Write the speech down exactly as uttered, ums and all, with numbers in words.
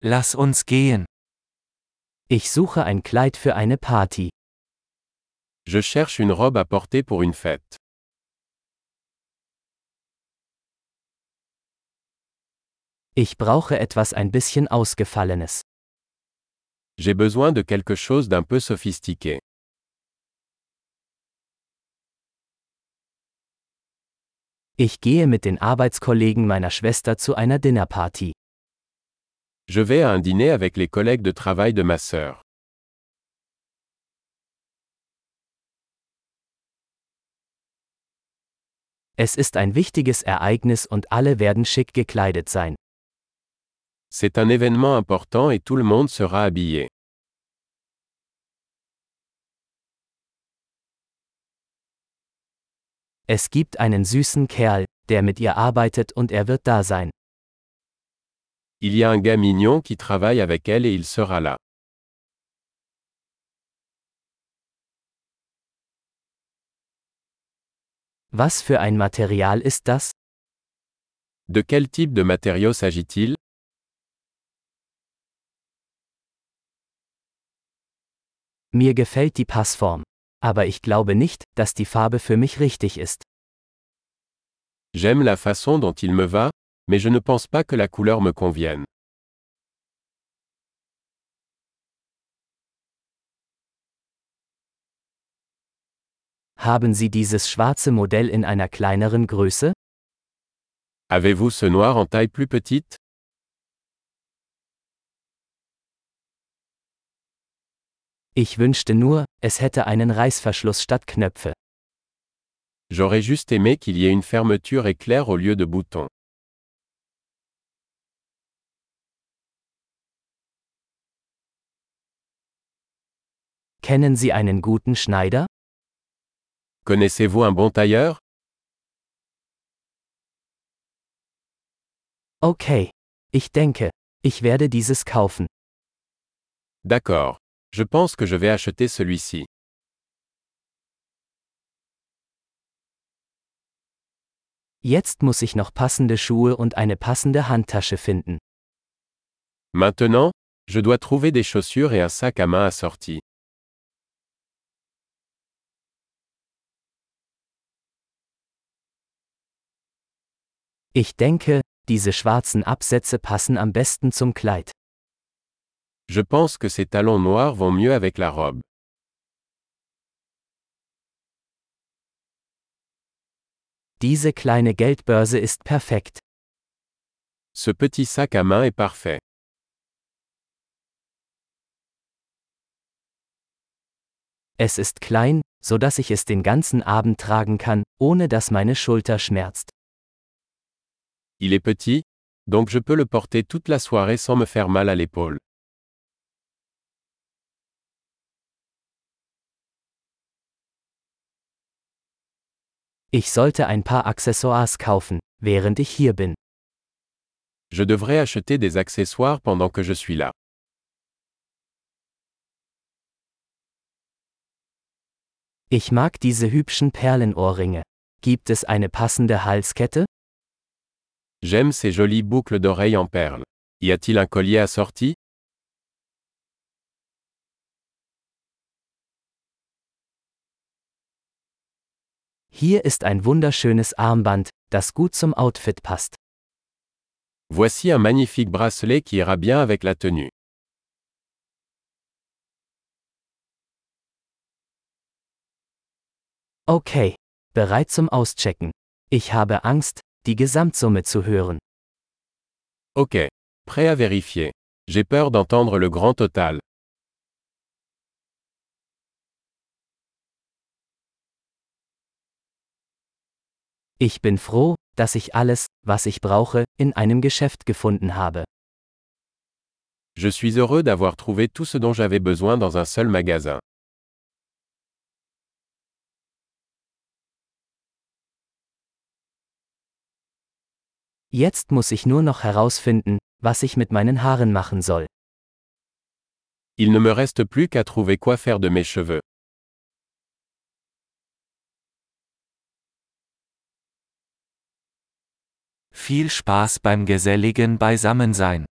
Lass uns gehen. Ich suche ein Kleid für eine Party. Je cherche une robe à porter pour une fête. Ich brauche etwas ein bisschen Ausgefallenes. J'ai besoin de quelque chose d'un peu sophistiqué. Ich gehe mit den Arbeitskollegen meiner Schwester zu einer Dinnerparty. Je vais à un dîner avec les collègues de travail de ma sœur. Es ist ein wichtiges Ereignis und alle werden schick gekleidet sein. C'est un événement important et tout le monde sera habillé. Es gibt einen süßen Kerl, der mit ihr arbeitet und er wird da sein. Il y a un gars mignon qui travaille avec elle et il sera là. Was für ein Material ist das? De quel type de matériau s'agit-il? Mir gefällt die Passform. Aber ich glaube nicht, dass die Farbe für mich richtig ist. J'aime la façon dont il me va, mais je ne pense pas que la couleur me convienne. Haben Sie dieses schwarze Modell in einer kleineren Größe? Avez-vous ce noir en taille plus petite? Ich wünschte nur, es hätte einen Reißverschluss statt Knöpfe. J'aurais juste aimé qu'il y ait une fermeture éclair au lieu de boutons. Kennen Sie einen guten Schneider? Connaissez-vous un bon tailleur? Okay. Ich denke, ich werde dieses kaufen. D'accord. Je pense que je vais acheter celui-ci. Jetzt muss ich noch passende Schuhe und eine passende Handtasche finden. Maintenant, je dois trouver des chaussures et un sac à main assorti. Ich denke, diese schwarzen Absätze passen am besten zum Kleid. Je pense que ces talons noirs vont mieux avec la robe. Diese kleine Geldbörse ist perfekt. Ce petit sac à main est parfait. Es ist klein, so dass ich es den ganzen Abend tragen kann, ohne dass meine Schulter schmerzt. Il est petit, donc je peux le porter toute la soirée sans me faire mal à l'épaule. Ich sollte ein paar Accessoires kaufen, während ich hier bin. Je devrais acheter des accessoires pendant que je suis là. Ich mag diese hübschen Perlenohrringe. Gibt es eine passende Halskette? J'aime ces jolies boucles d'oreilles en perles. Y a-t-il un collier assorti? Hier ist ein wunderschönes Armband, das gut zum Outfit passt. Voici un magnifique bracelet qui ira bien avec la tenue. Okay. Bereit zum Auschecken. Ich habe Angst, die Gesamtsumme zu hören. Ok. Prêt à vérifier. J'ai peur d'entendre le grand total. Ich bin froh, dass ich alles, was ich brauche, in einem Geschäft gefunden habe. Je suis heureux d'avoir trouvé tout ce dont j'avais besoin dans un seul magasin. Jetzt muss ich nur noch herausfinden, was ich mit meinen Haaren machen soll. Il ne me reste plus qu'à trouver quoi faire de mes cheveux. Viel Spaß beim geselligen Beisammensein.